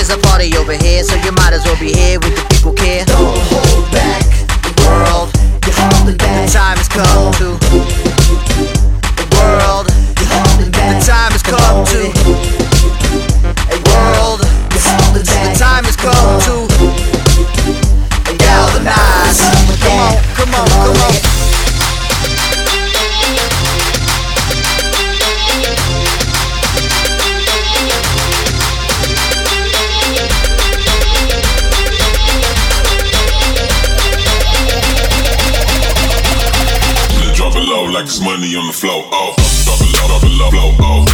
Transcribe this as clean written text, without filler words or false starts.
There's a party over here, so you might as well be here with the people care. Don't hold back the world, you're holding back. The time has come to the world. You're holding back. The time has come to world. You're holding back. The time has come to galvanize. Come on, come on. Drop it low like it's money on the floor. Oh, drop it low, flow. Oh.